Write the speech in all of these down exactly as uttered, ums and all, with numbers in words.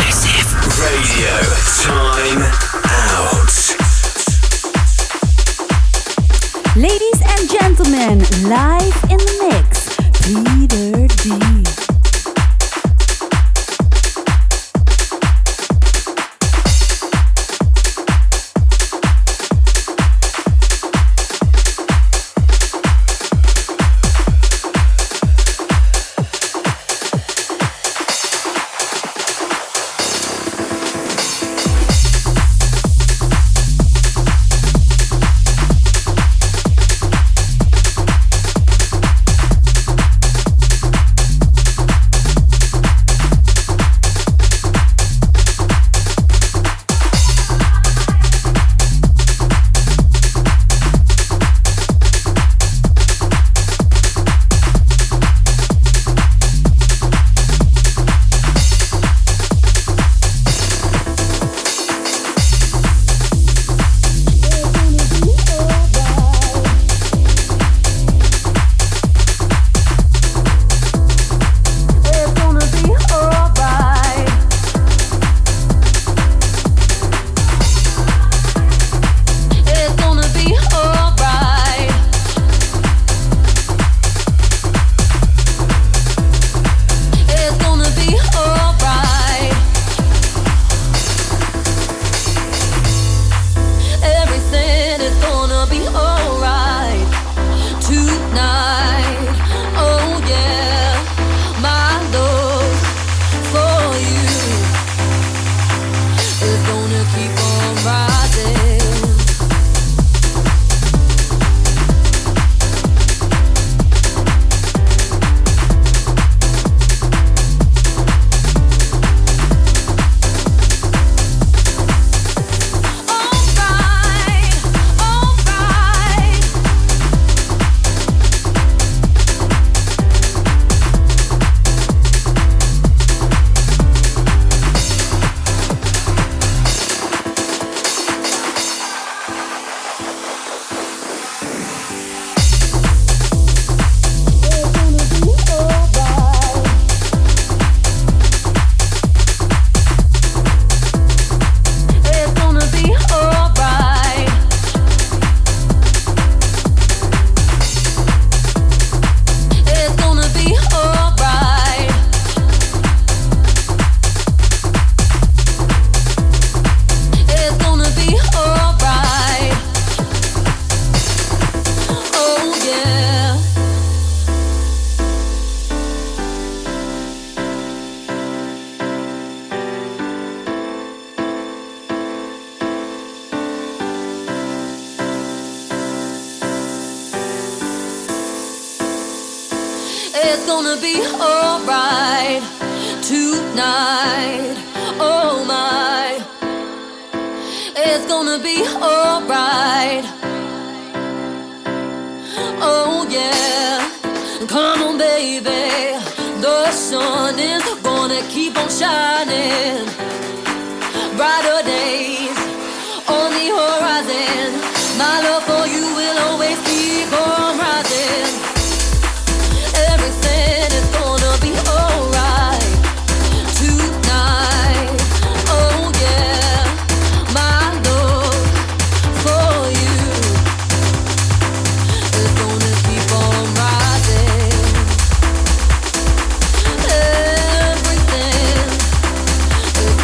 Radio. Time out. Ladies and gentlemen, live in the mix, Peter D. It's gonna be alright tonight. Oh my, it's gonna be alright. Oh yeah, come on baby, the sun is gonna keep on shining. Brighter days on the horizon. My love for you will always keep on rising. Everything is gonna be alright tonight. Oh yeah, my love for you is gonna keep on rising. Everything is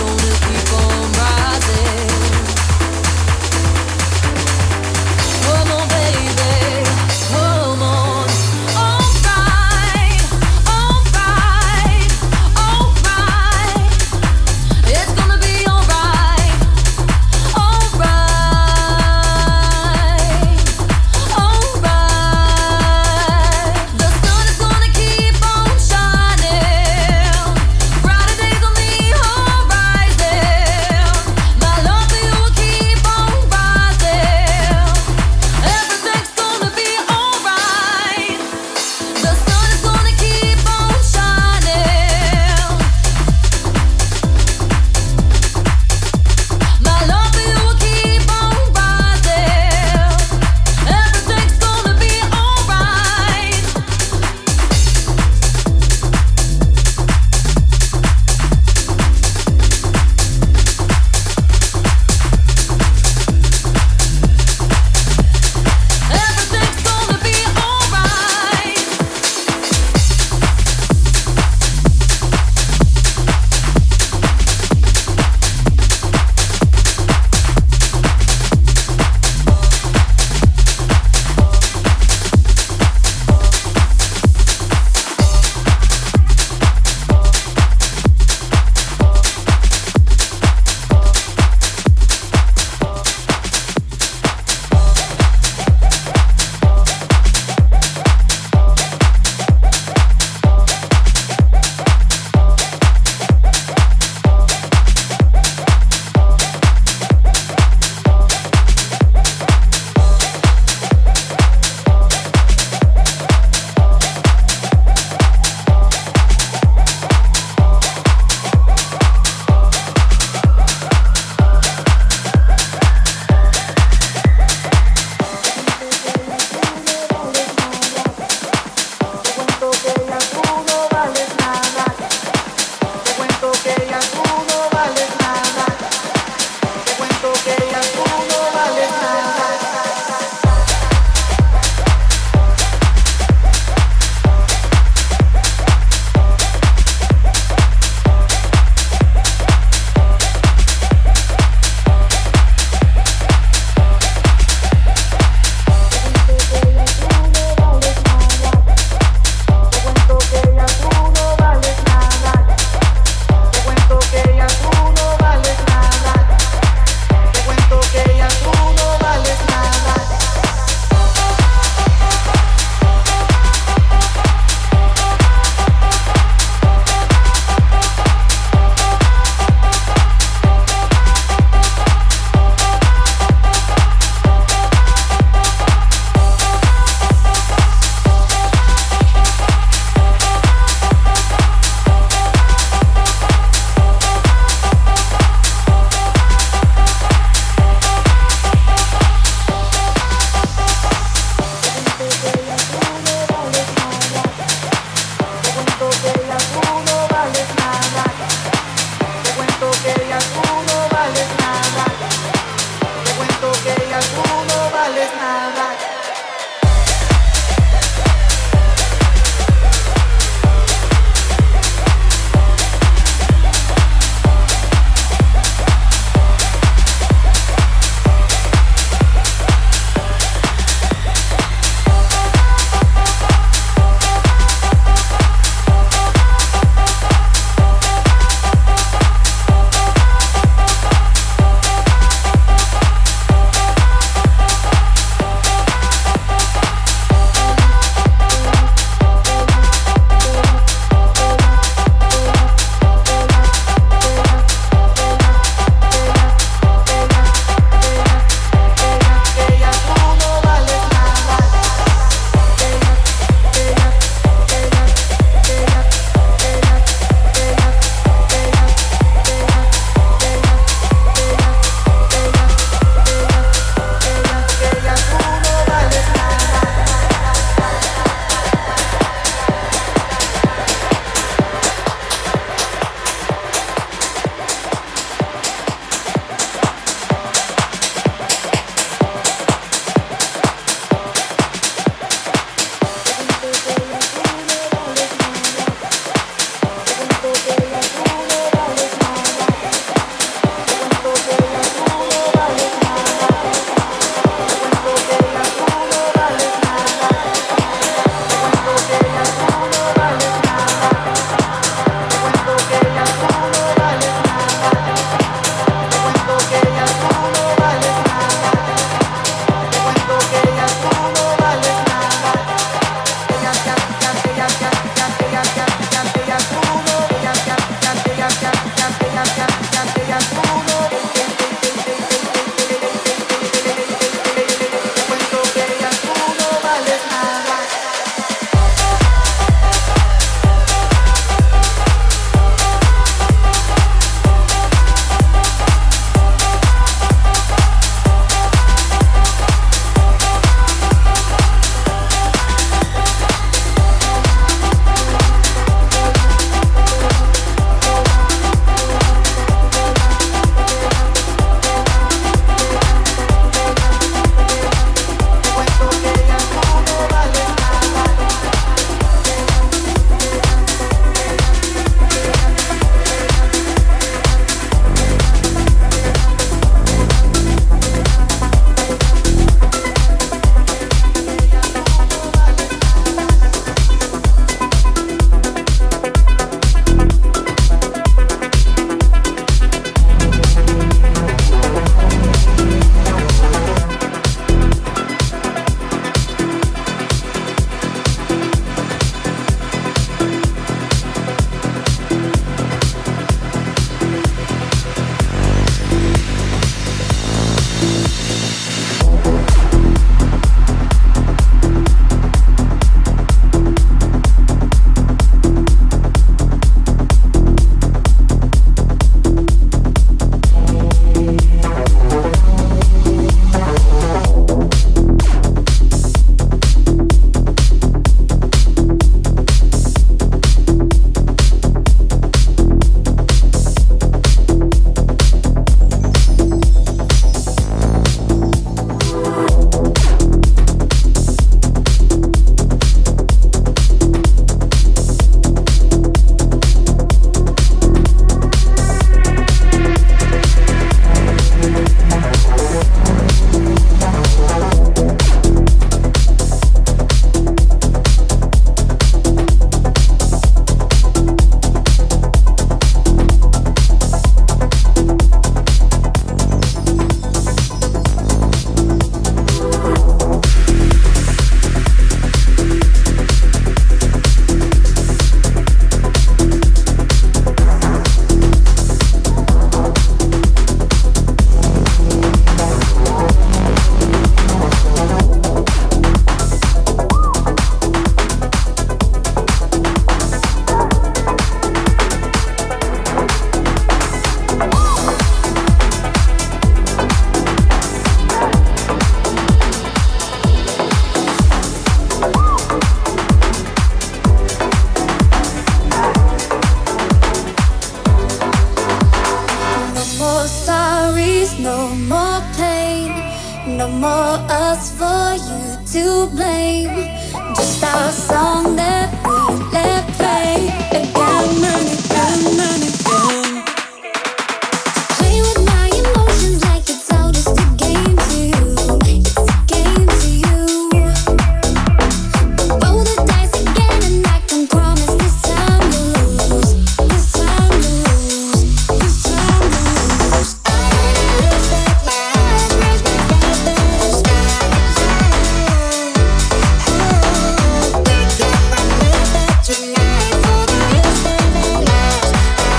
please, no more pain, no more us for you to blame. Just our song that we let play again and again and again. Play with my emotions like it's all just a game to you. It's a game to you. Roll the dice again and I can promise this time you'll lose. This time you'll lose. This time you'll lose. I lift up my eyes, raise my glass to the sky. We can remember tonight for the rest of our lives.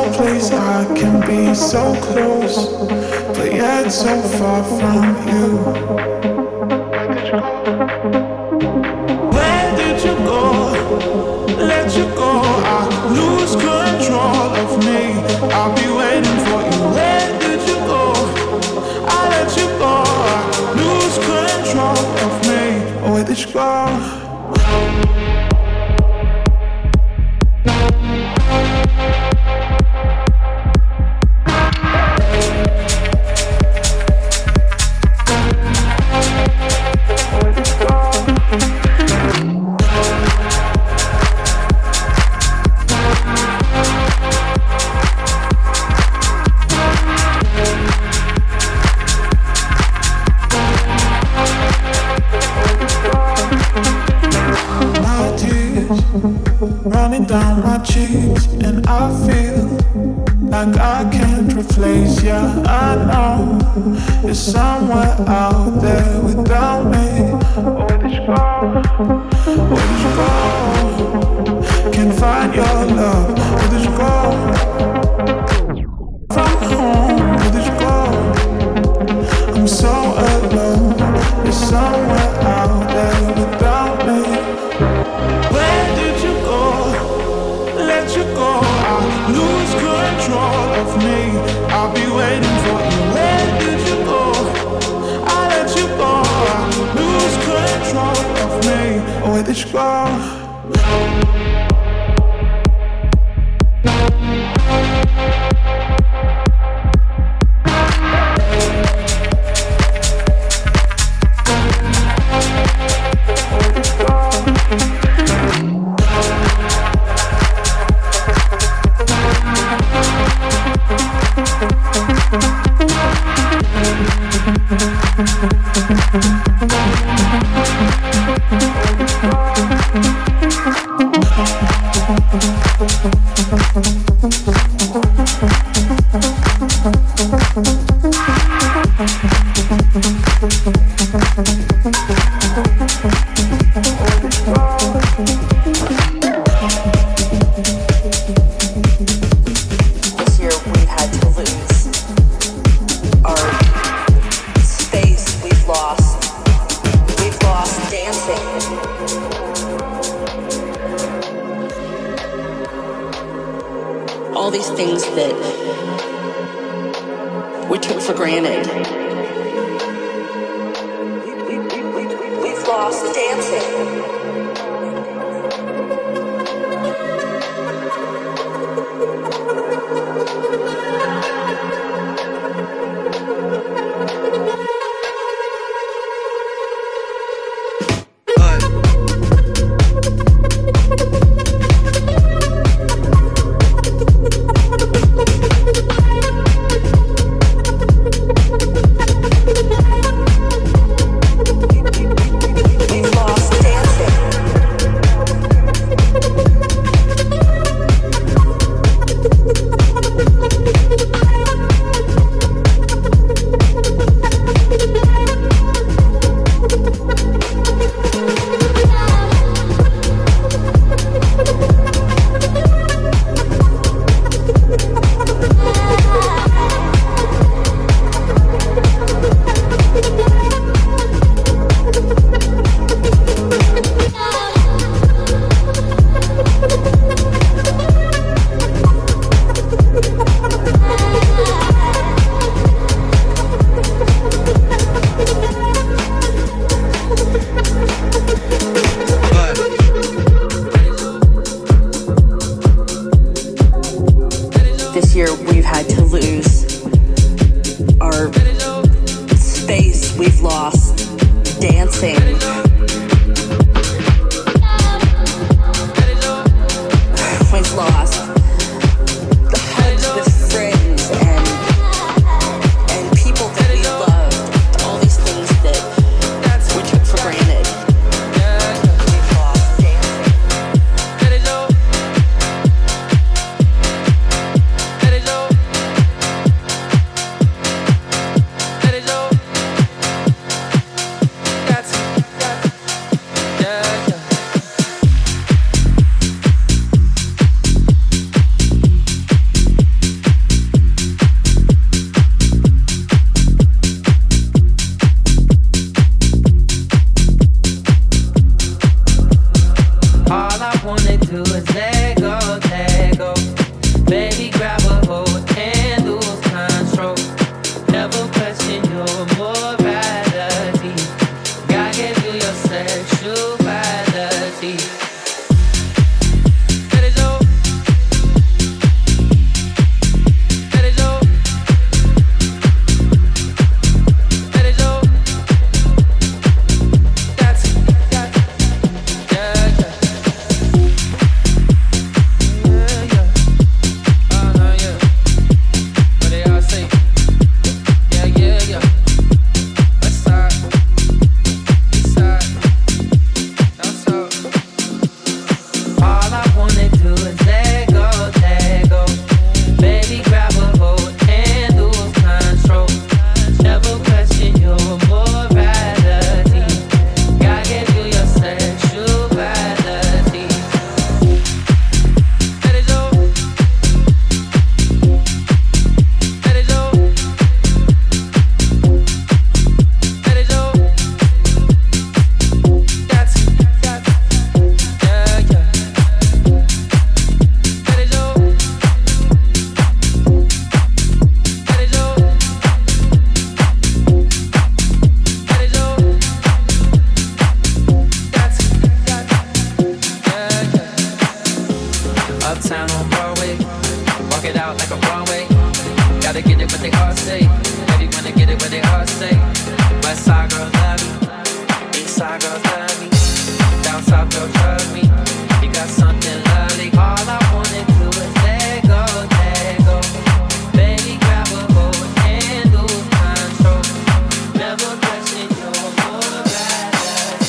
place I can be so close, but yet so far from you. Where did you go? Let you go. I lose control of me. I'll be waiting for you. Where did you go? I let you go. I lose control of me. Where did you go? Running down my cheeks, and I feel like I can't replace you. I know you're somewhere out there without me. Where did you go? Where did you go? Can't find your love. Where did you go? From home. Where did you go? I'm so alone. You're somewhere out there without me. Where did you go? Let you go. I lose control of me. I'll be waiting for you. Where did you go? I let you go. I lose control of me. Where did you go? All these things that we took for granted. We, we, we, we've lost dancing. We've lost dancing. Gotta get it what they all say. Baby wanna get it what they all say. West side girls love me, east side girls love me, down south girls trust me. You got something lovely. All I wanna do is let go, let go. Baby grab a hold and lose control. Never question your morality.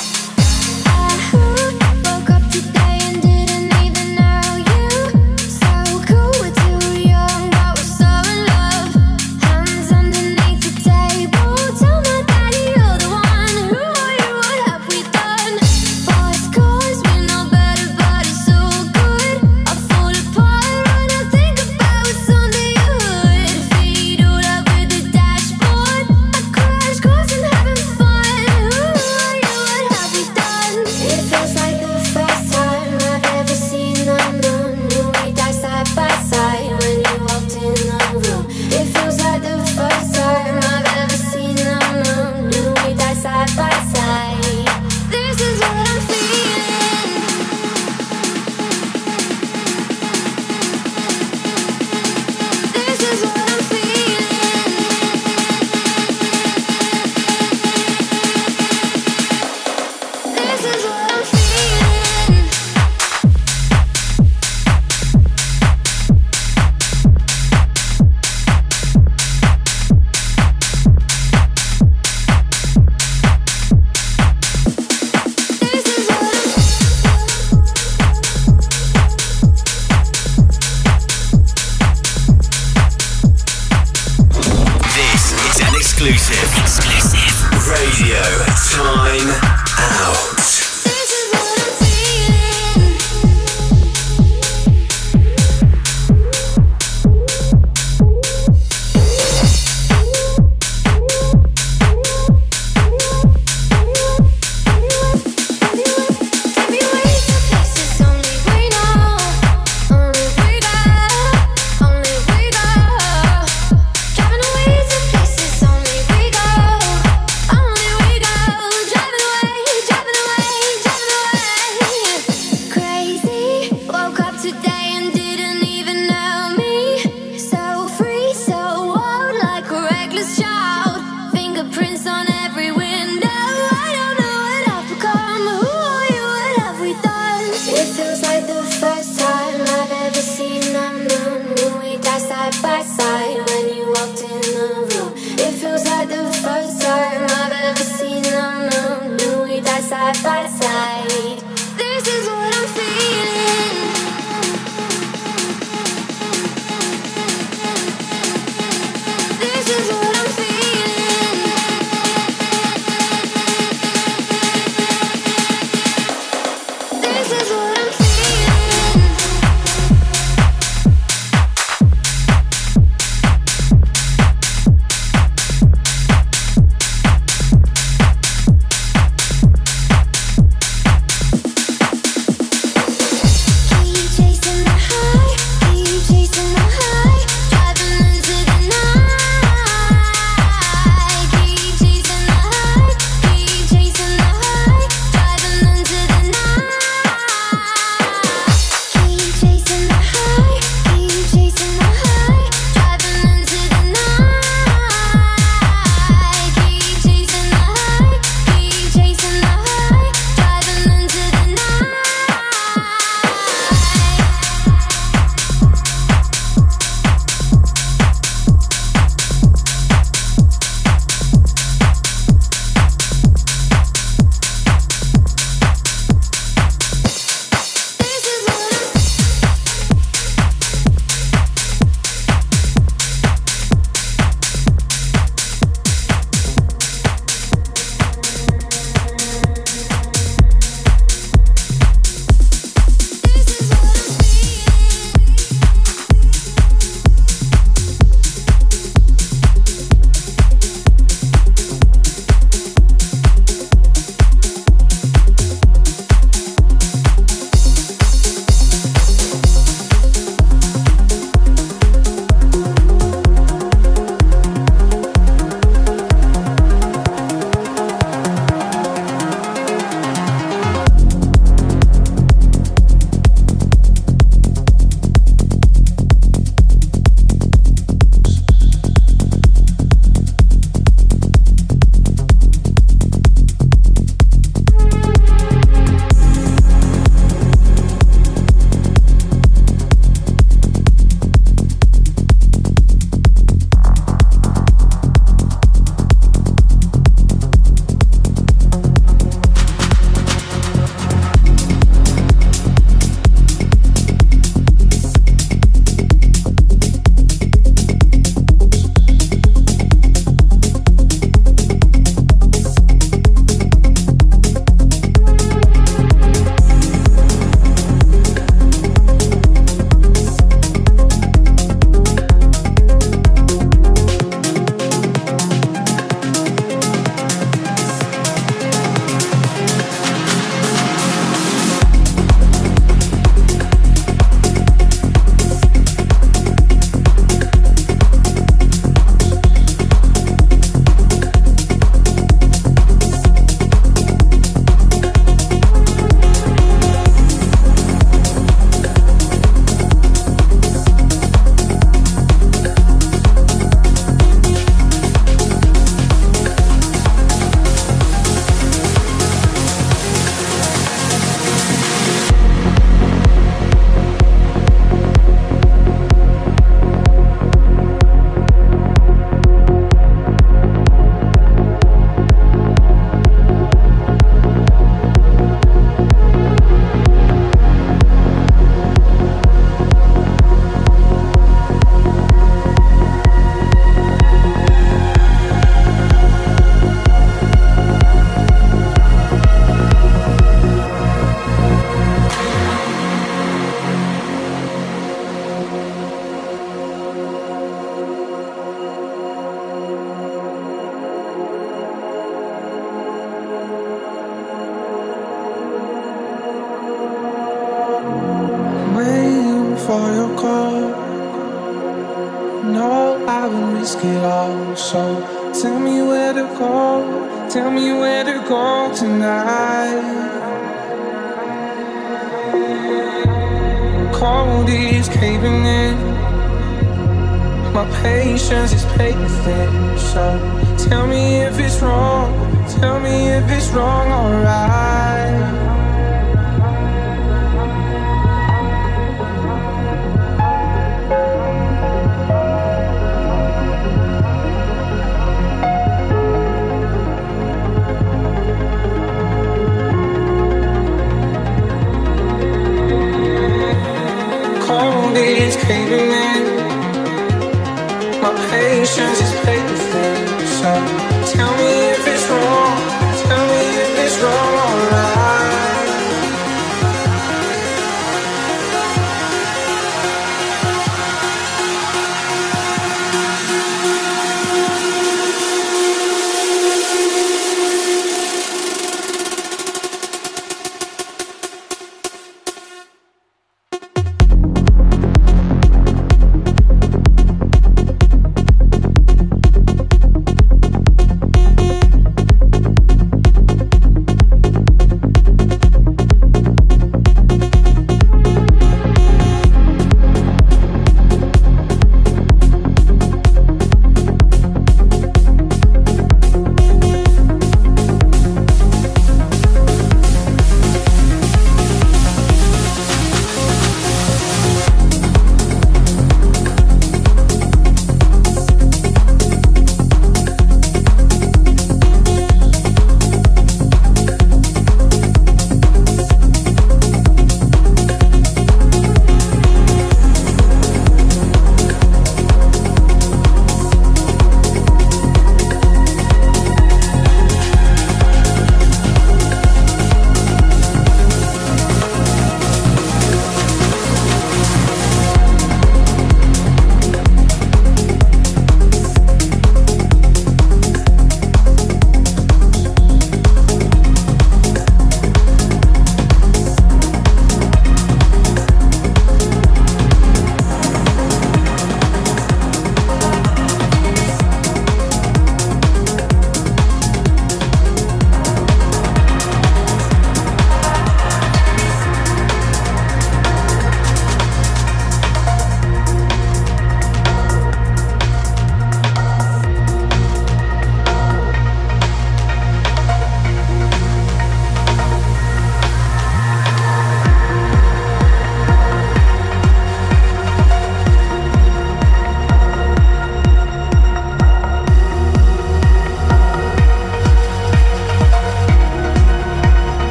I woke up today and didn't even know you. So cool, we're too young, but we're so in love. Hands underneath the table. Tell my daddy you're the one. Who are you? What have we done? Boys, cause we know better, but it's so good. I fall apart when I think about what's under your hood. Feet all over the dashboard. I crash course and having fun. Who are you? What have we done? It feels like the first time I've ever seen unknown. Knew we died side by side when you walked in the room. It feels like the first time I've ever seen unknown. Knew we died side by side. This is what I'm feeling. This is what I'm feeling. This is what I'm feeling. This is what This is an exclusive. Exclusive. Radio Time Out. This is what I'm feeling. Take me away to places only we know, only we go, only we go. Driving away to places only we go, only we go. Driving away, driving away, driving away. Crazy, woke up today and didn't even know me. So free, so wild, like a reckless child. Fingerprints on every window. I don't know what I've become. Who are you? What have we done? It feels like the first time I've ever seen unknown. Knew we died side by side when you walked in the room. It feels like the first time I've ever seen unknown. Knew we died side by side. This is what I'm feeling. This is what I'm feeling. This is what I'm feeling. I would risk it all. So tell me where to go, tell me where to go tonight. Cold is caving in, my patience is paper thin. So tell me if it's wrong, tell me if it's wrong, alright. Cold is caving in, my patience is paper thin. So tell me if it's wrong, tell me if it's wrong, alright.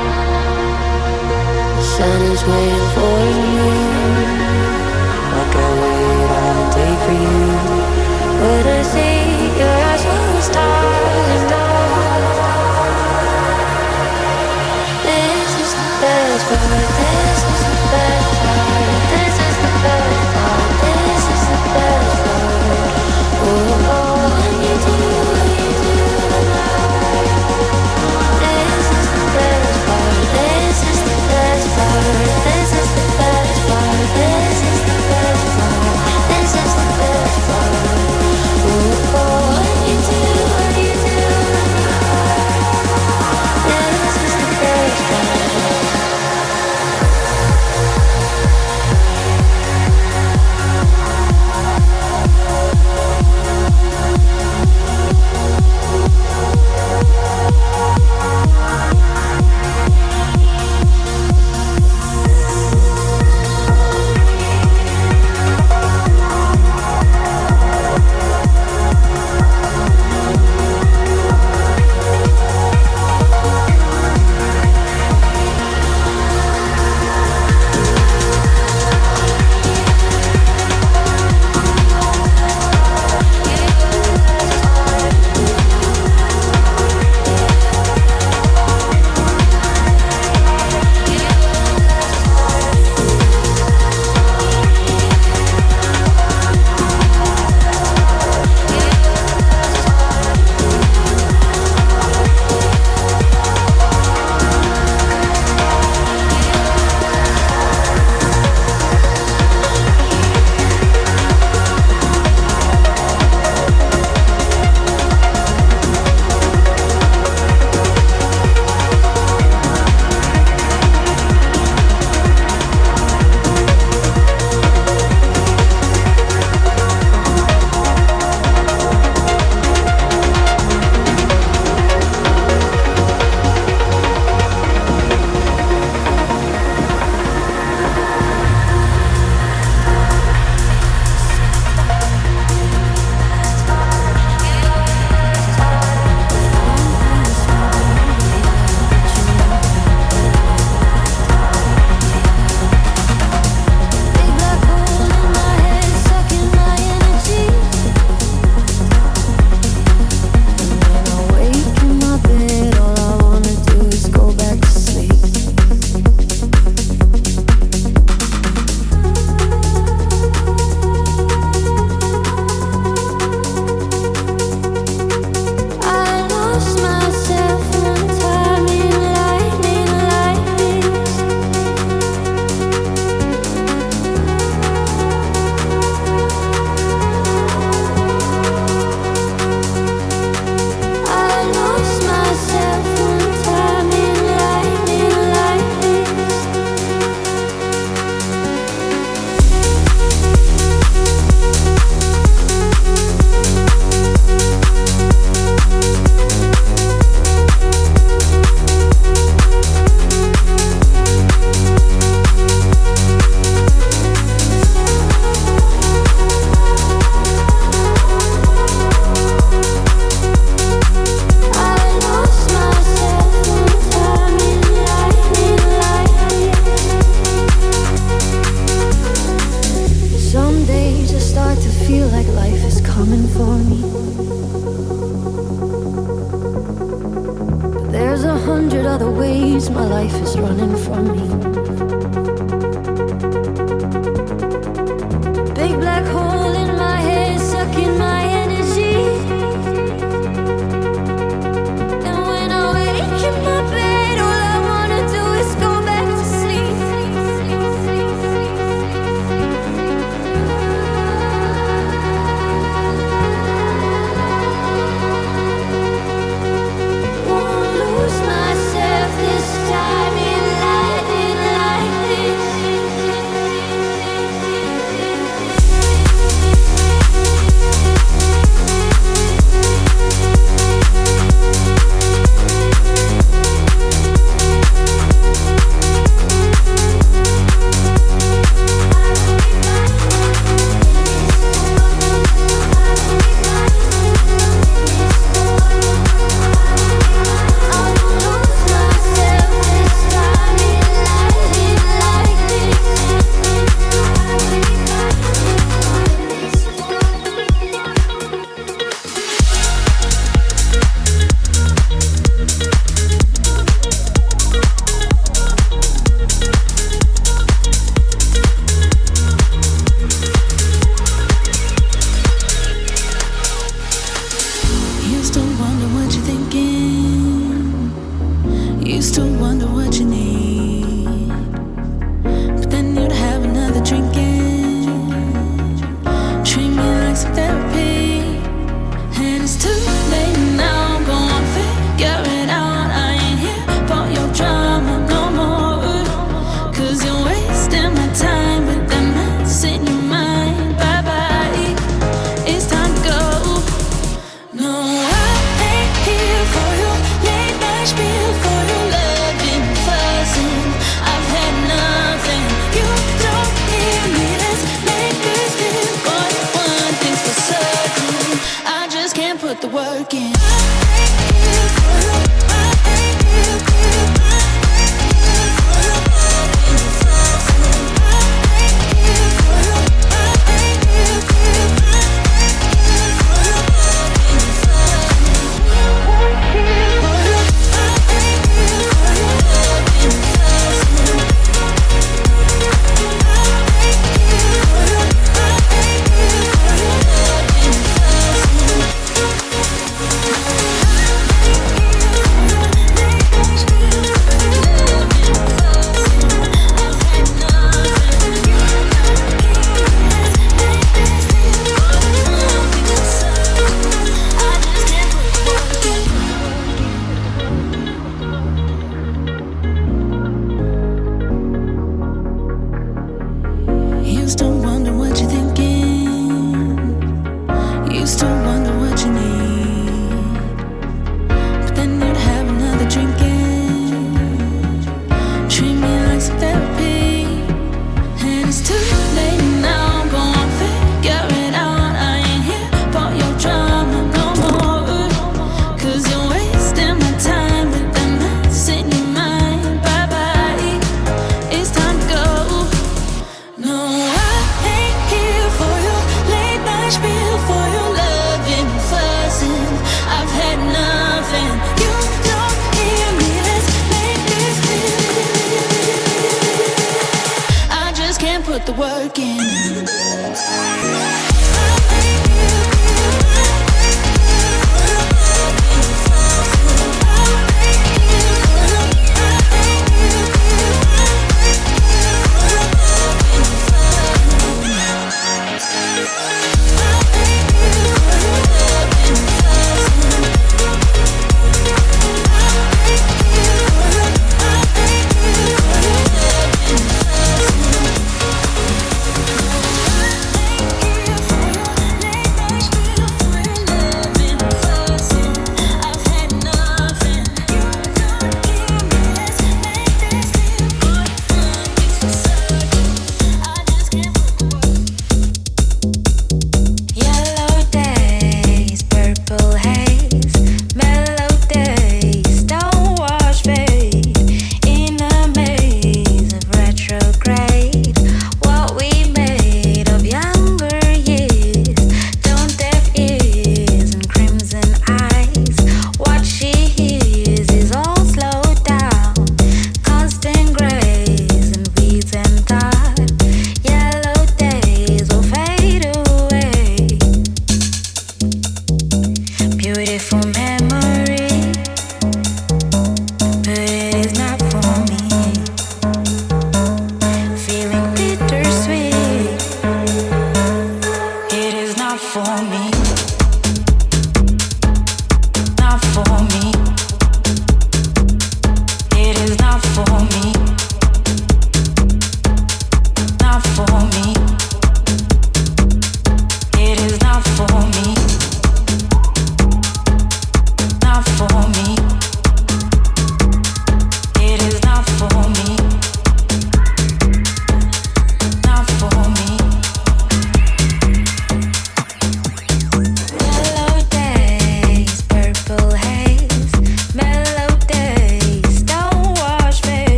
Sun is waiting for you like a coming for me. But there's a hundred other ways my life is running from me. Big black hole in my head, sucking my energy. And when I wake in my bed, all I wanna do is go back to sleep. Won't lose myself this time in lightning like this.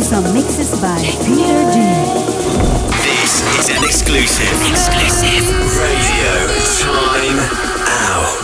some mixes by Peter D. This is an exclusive. Exclusive. Radio Time Out.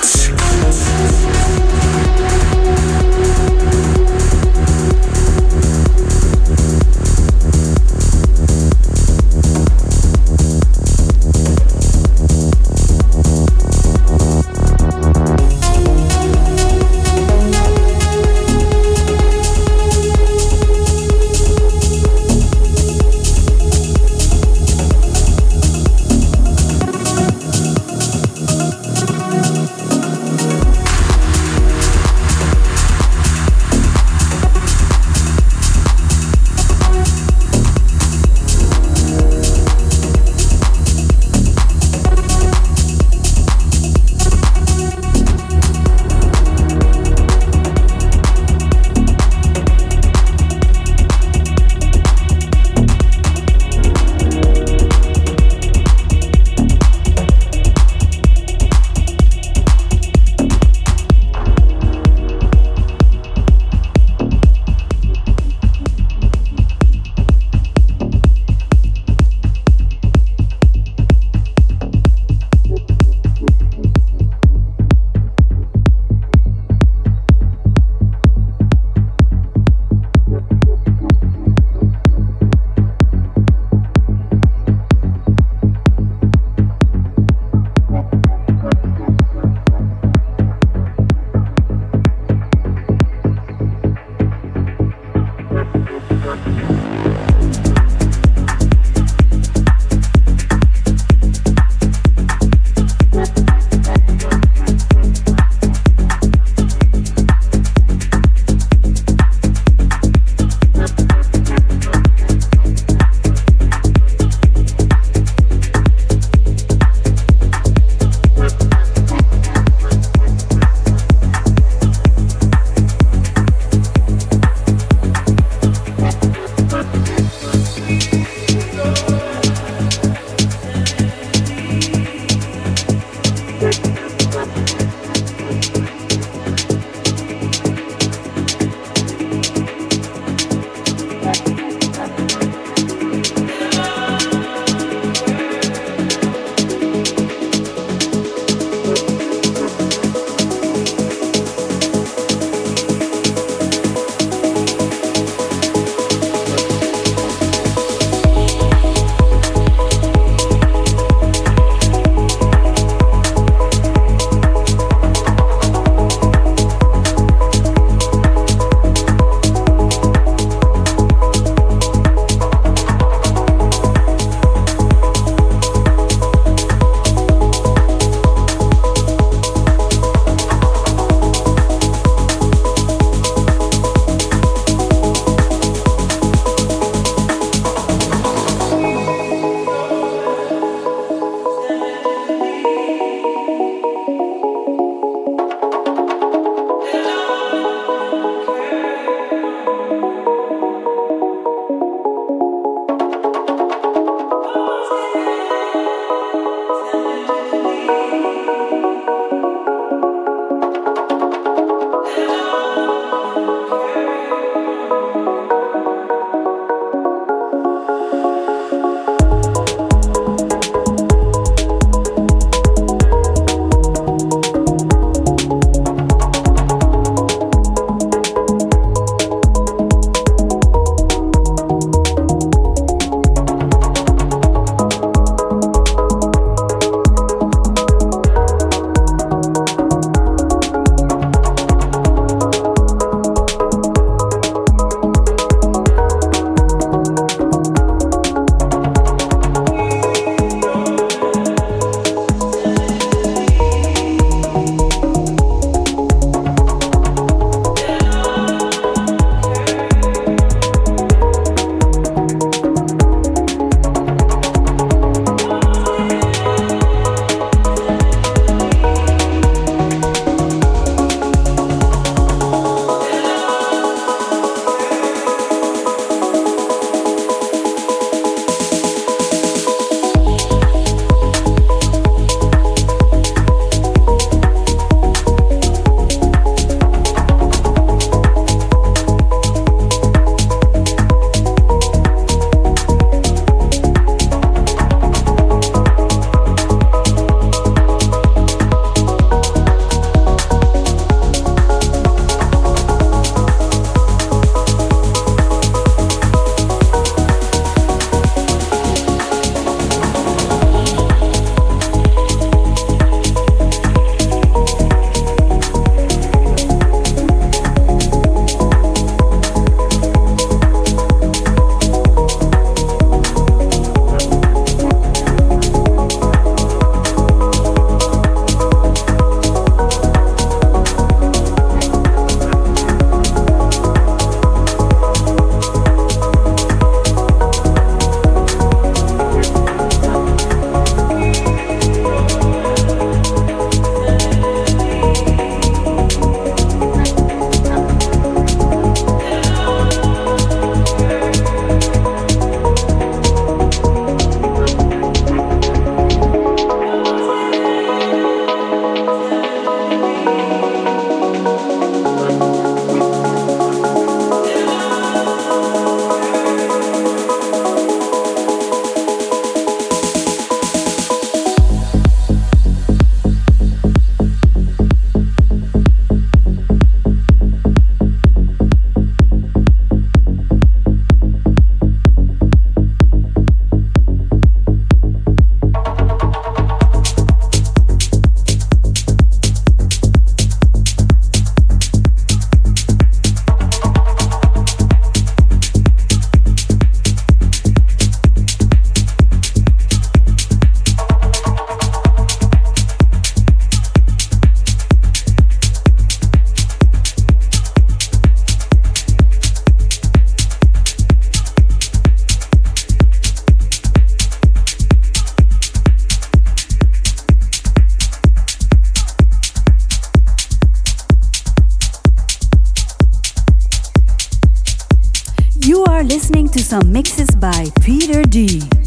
are listening to some mixes by Peter D.